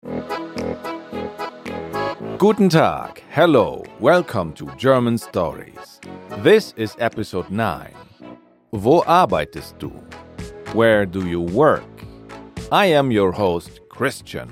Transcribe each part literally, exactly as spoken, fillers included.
Guten Tag, hello, welcome to German Stories. This is episode nine. Wo arbeitest du? Where do you work? I am your host, Christian.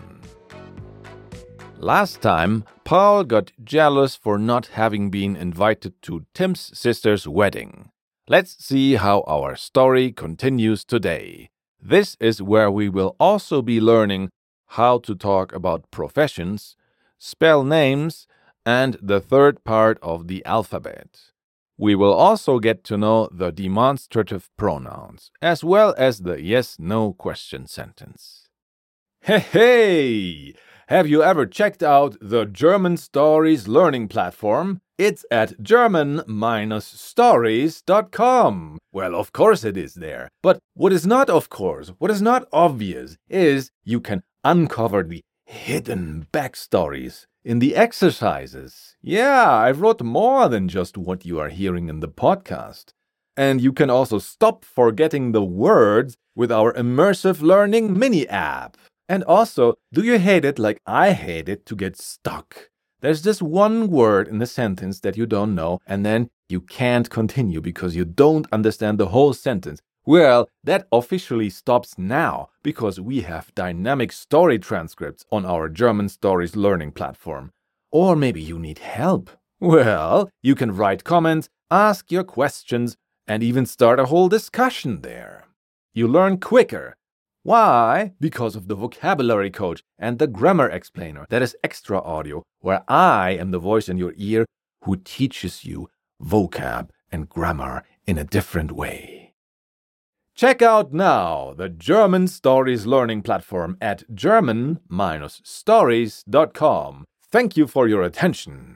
Last time, Paul got jealous for not having been invited to Tim's sister's wedding. Let's see how our story continues today. This is where we will also be learning how to talk about professions, spell names, and the third part of the alphabet. We will also get to know the demonstrative pronouns, as well as the yes-no question sentence. Hey, hey! Have you ever checked out the German Stories learning platform? It's at German stories dot com. Well, of course it is there. But what is not, of course, what is not obvious is you can uncover the hidden backstories in the exercises. Yeah, I wrote more than just what you are hearing in the podcast. And you can also stop forgetting the words with our immersive learning mini app. And also, do you hate it like I hate it to get stuck? There's this one word in the sentence that you don't know, and then you can't continue because you don't understand the whole sentence. Well, that officially stops now because we have dynamic story transcripts on our German Stories learning platform. Or maybe you need help. Well, you can write comments, ask your questions, and even start a whole discussion there. You learn quicker. Why? Because of the vocabulary coach and the grammar explainer. That is extra audio, where I am the voice in your ear who teaches you vocab and grammar in a different way. Check out now the German Stories learning platform at German stories dot com. Thank you for your attention.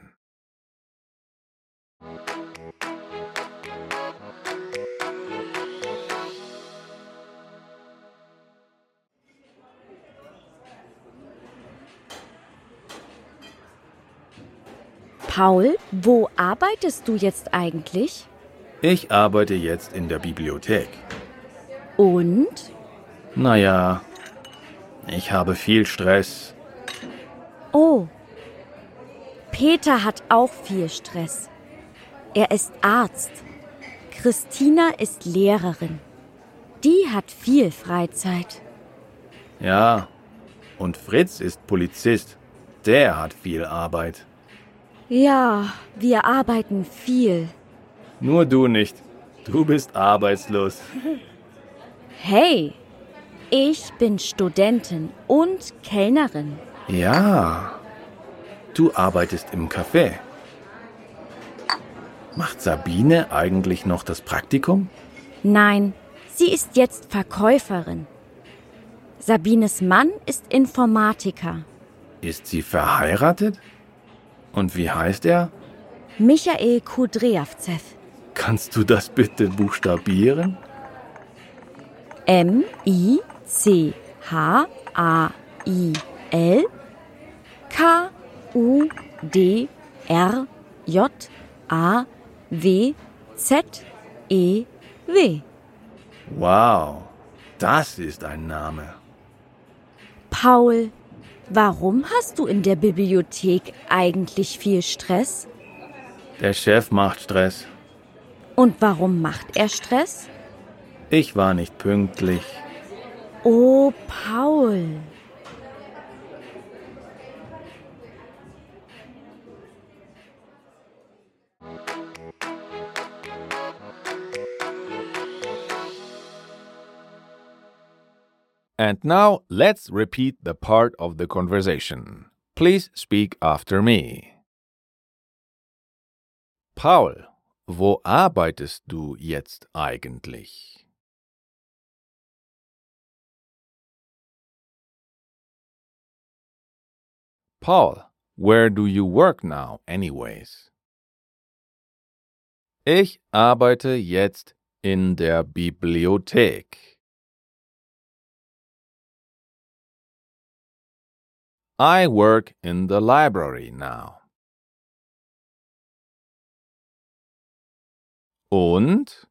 Paul, wo arbeitest du jetzt eigentlich? Ich arbeite jetzt in der Bibliothek. Und? Naja, ich habe viel Stress. Oh, Peter hat auch viel Stress. Er ist Arzt. Christina ist Lehrerin. Die hat viel Freizeit. Ja, und Fritz ist Polizist. Der hat viel Arbeit. Ja, wir arbeiten viel. Nur du nicht. Du bist arbeitslos. Hey, ich bin Studentin und Kellnerin. Ja, du arbeitest im Café. Macht Sabine eigentlich noch das Praktikum? Nein, sie ist jetzt Verkäuferin. Sabines Mann ist Informatiker. Ist sie verheiratet? Und wie heißt er? Michael Kudryavtsev. Kannst du das bitte buchstabieren? M I C H A I L K U D R J A W Z E W. Wow, das ist ein Name. Paul, warum hast du in der Bibliothek eigentlich viel Stress? Der Chef macht Stress. Und warum macht er Stress? Ich war nicht pünktlich. Oh, Paul. And now let's repeat the part of the conversation. Please speak after me. Paul, wo arbeitest du jetzt eigentlich? Paul, where do you work now anyways? Ich arbeite jetzt in der Bibliothek. I work in the library now. Und?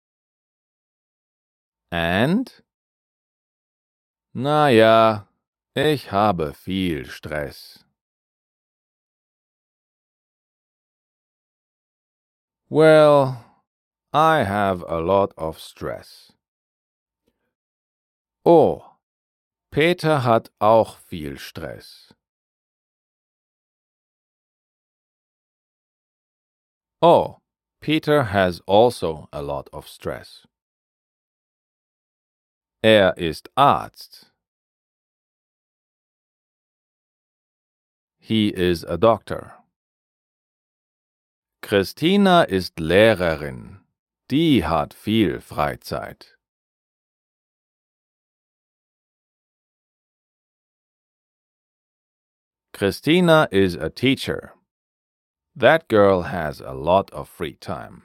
And? Na ja, Ich habe viel Stress. Well, I have a lot of stress. Oh, Peter hat auch viel Stress. Oh, Peter has also a lot of stress. Er ist Arzt. He is a doctor. Christina ist Lehrerin. Die hat viel Freizeit. Christina is a teacher. That girl has a lot of free time.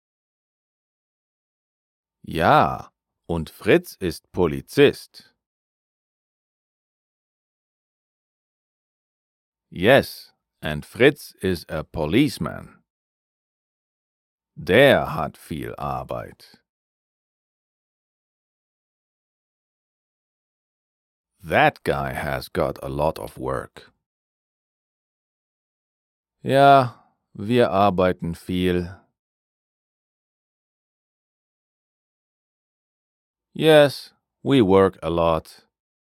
Ja, und Fritz ist Polizist. Yes, and Fritz is a policeman. Der hat viel Arbeit. That guy has got a lot of work. Ja, wir arbeiten viel. Yes, we work a lot.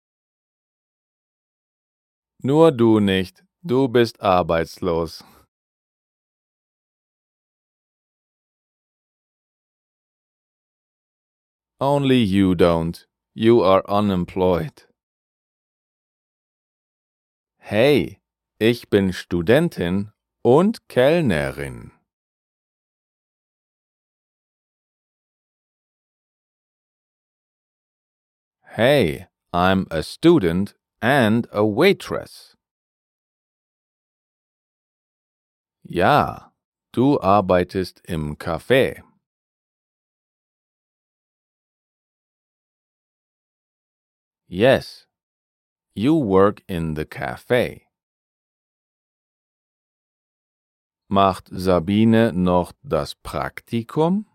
Nur du nicht, du bist arbeitslos. Only you don't. You are unemployed. Hey, ich bin Studentin und Kellnerin. Hey, I'm a student and a waitress. Ja, du arbeitest im Café. Yes, you work in the cafe. Macht Sabine noch das Praktikum?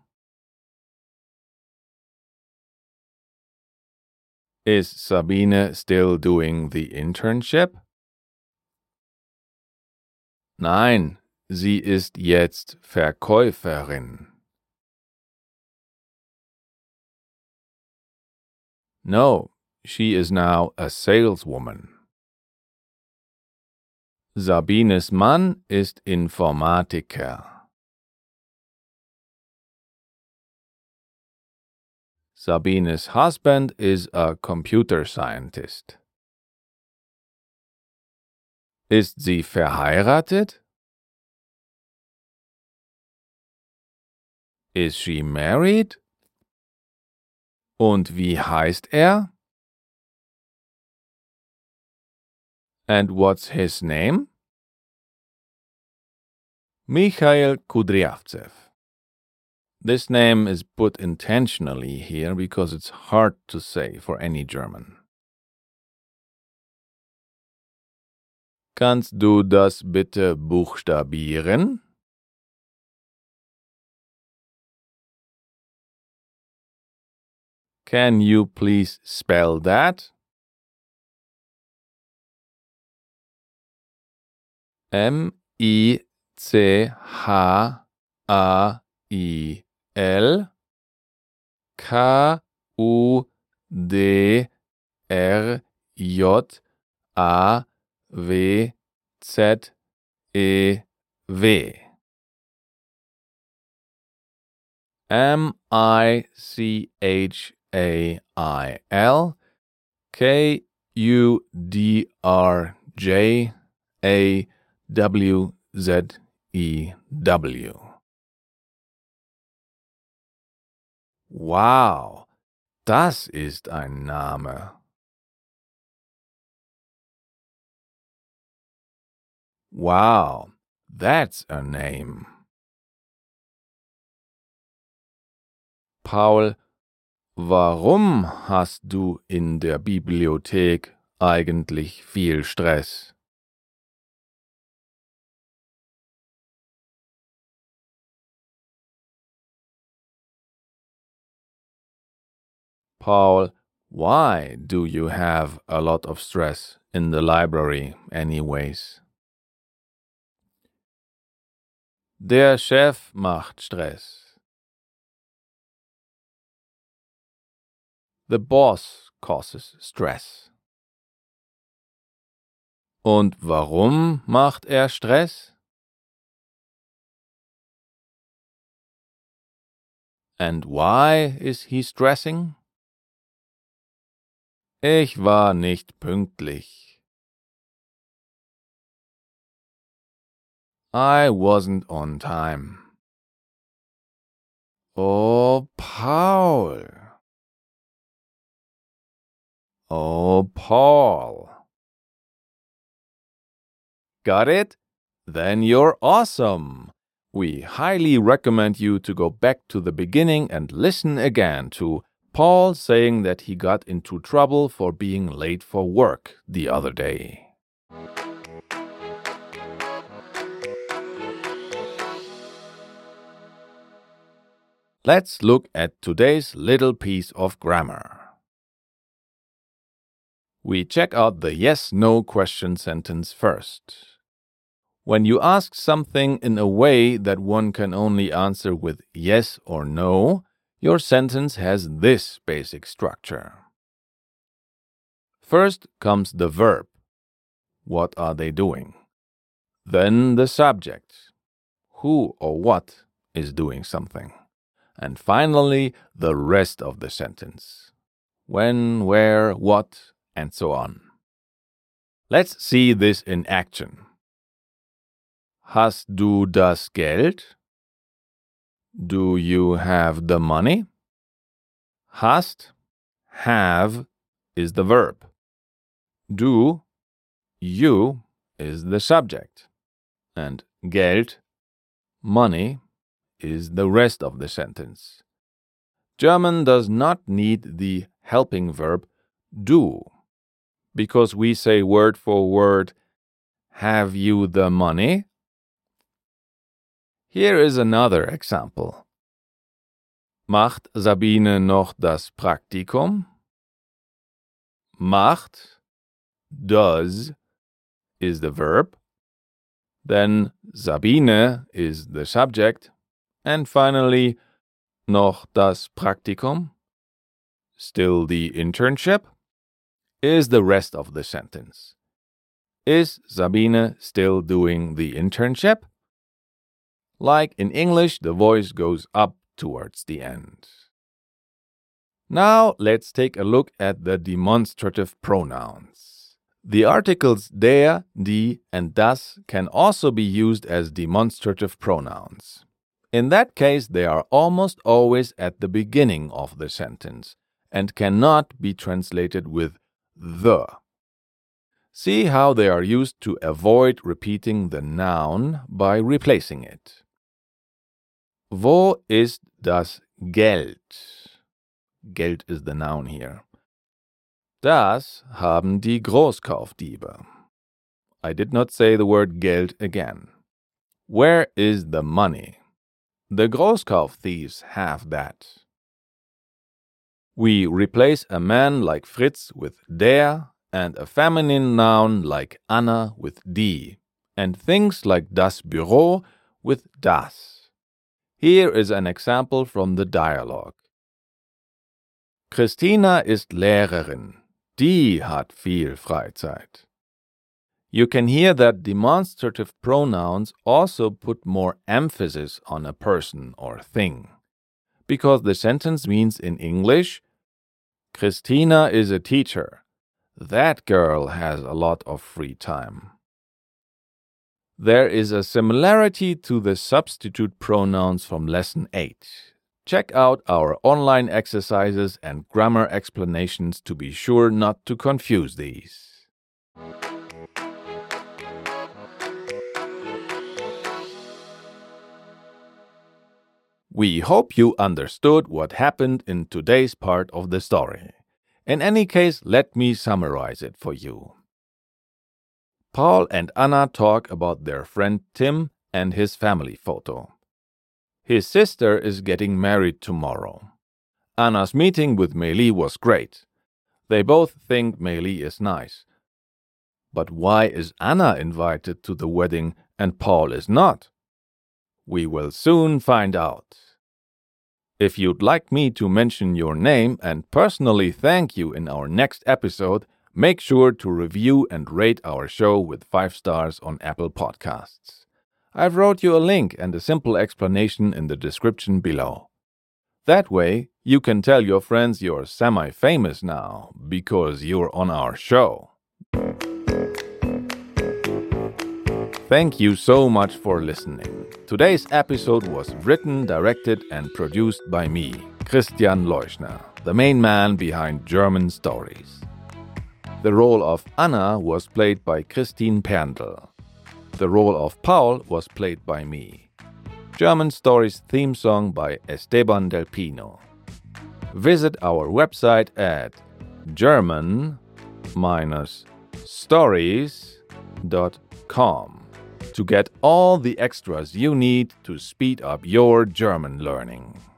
Is Sabine still doing the internship? Nein, sie ist jetzt Verkäuferin. No, she is now a saleswoman. Sabines Mann ist Informatiker. Sabines husband is a computer scientist. Ist sie verheiratet? Is she married? Und wie heißt er? And what's his name? Mikhail Kudryavtsev. This name is put intentionally here because it's hard to say for any German. Kannst du das bitte buchstabieren? Can you please spell that? M I C H A I L K U D R J A W Z E W. M I C H A I L K U D R J A W Z E W. Wow, das ist ein Name. Wow, that's a name. Paul, warum hast du in der Bibliothek eigentlich viel Stress? Paul, why do you have a lot of stress in the library anyways. Der Chef macht Stress. The boss causes stress. Und warum macht er Stress? And why is he stressing? Ich war nicht pünktlich. I wasn't on time. Oh, Paul. Oh, Paul. Got it? Then you're awesome. We highly recommend you to go back to the beginning and listen again to Paul saying that he got into trouble for being late for work the other day. Let's look at today's little piece of grammar. We check out the yes-no question sentence first. When you ask something in a way that one can only answer with yes or no, your sentence has this basic structure. First comes the verb. What are they doing? Then the subject. Who or what is doing something? And finally, the rest of the sentence. When, where, what, and so on. Let's see this in action. Hast du das Geld? Do you have the money? Hast, have, is the verb. Du, you, is the subject. And Geld, money, is the rest of the sentence. German does not need the helping verb do, because we say word for word, have you the money? Here is another example. Macht Sabine noch das Praktikum? Macht, does, is the verb. Then Sabine is the subject. And finally, noch das Praktikum, still the internship, is the rest of the sentence. Is Sabine still doing the internship? Like in English, the voice goes up towards the end. Now let's take a look at the demonstrative pronouns. The articles der, die, and das can also be used as demonstrative pronouns. In that case, they are almost always at the beginning of the sentence and cannot be translated with the. See how they are used to avoid repeating the noun by replacing it. Wo ist das Geld? Geld is the noun here. Das haben die Großkaufdiebe. I did not say the word Geld again. Where is the money? The Großkaufthieves have that. We replace a man like Fritz with der and a feminine noun like Anna with die and things like das Büro with das. Here is an example from the dialogue. Christina ist Lehrerin. Die hat viel Freizeit. You can hear that demonstrative pronouns also put more emphasis on a person or thing, because the sentence means in English, Christina is a teacher. That girl has a lot of free time. There is a similarity to the substitute pronouns from Lesson eight. Check out our online exercises and grammar explanations to be sure not to confuse these. We hope you understood what happened in today's part of the story. In any case, let me summarize it for you. Paul and Anna talk about their friend Tim and his family photo. His sister is getting married tomorrow. Anna's meeting with Meili was great. They both think Meili is nice. But why is Anna invited to the wedding and Paul is not? We will soon find out. If you'd like me to mention your name and personally thank you in our next episode, make sure to review and rate our show with five stars on Apple Podcasts. I've wrote you a link and a simple explanation in the description below. That way, you can tell your friends you're semi-famous now because you're on our show. Thank you so much for listening. Today's episode was written, directed, and produced by me, Christian Leuschner, the main man behind German Stories. The role of Anna was played by Christine Perndl. The role of Paul was played by me. German Stories theme song by Esteban Del Pino. Visit our website at german dash stories dot com to get all the extras you need to speed up your German learning.